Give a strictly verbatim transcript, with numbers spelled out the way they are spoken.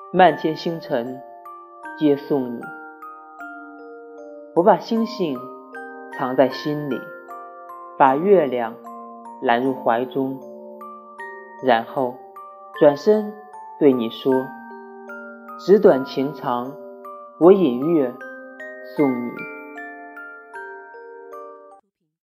漫天星辰皆送你。我把星星藏在心里，把月亮揽入怀中，然后转身对你说，纸短情长，我引月送你。